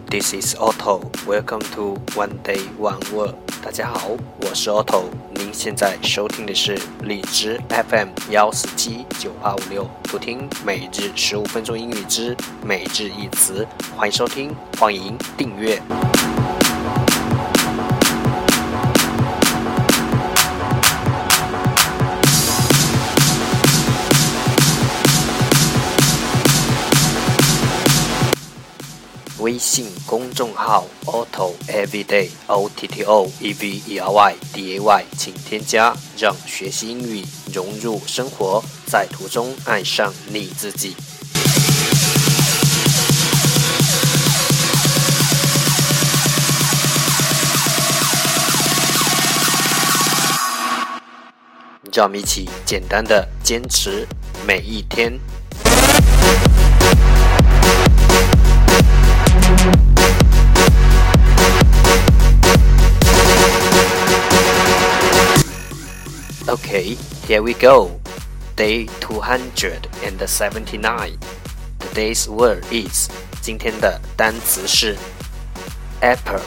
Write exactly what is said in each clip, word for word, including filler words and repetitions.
this is Otto. Welcome to One Day One Word. 大家好，我是 Otto。您现在收听的是荔枝 F M 一四七九八五六，图听每日十五分钟英语之每日一词。欢迎收听，欢迎订阅。微信公众号 Otto Everyday O T T O E V E R Y D A Y 请添加，让学习英语融入生活，在途中爱上你自己。让我们一起简单的坚持每一天。Okay, here we go. Day two hundred seventy-nine. Today's word is 今天的单词是 epoch,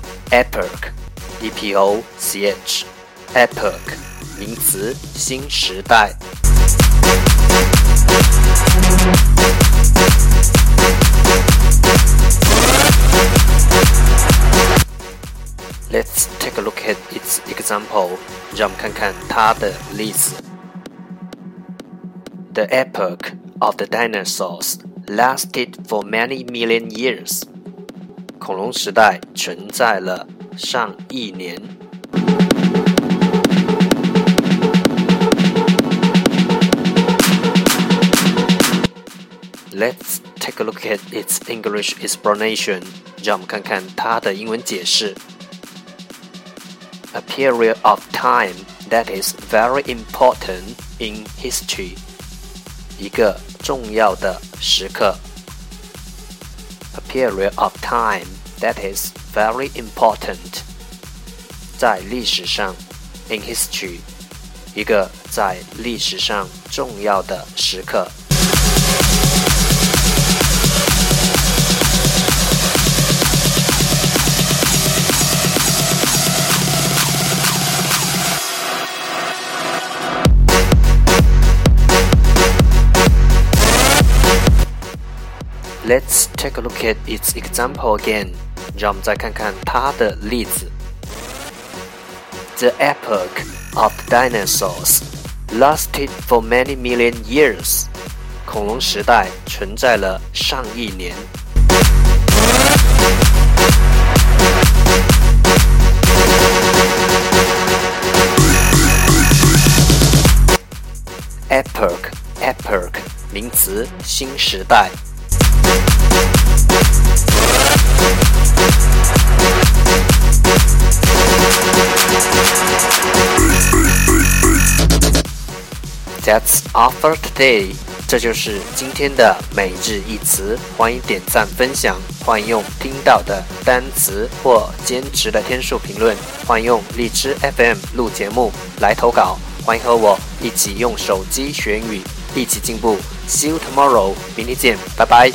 epoch, E P O C H, epoch, 名词，新时代。Let's take a look at its example. 让我们看看它的例子。The epoch of the dinosaurs lasted for many million years. 恐龙时代存在了上亿年。Let's take a look at its English explanation. 让我们看看它的英文解释。A period of time that is very important in history. 一个重要的时刻。A period of time that is very important. 在历史上 in history. 一个在历史上重要的时刻。Let's take a look at its example again. 让我们再看看它的例子。The epoch of dinosaurs lasted for many million years. 恐龍時代存在了上億年。Epoch, epoch, 名詞，新時代。That's all for today. 这就是今天的每日一词。欢迎点赞分享，欢迎用听到的单词或坚持的天数评论，欢迎用荔枝 F M 录节目来投稿，欢迎和我一起用手机学英语，一起进步。See you tomorrow. 明天见，拜拜。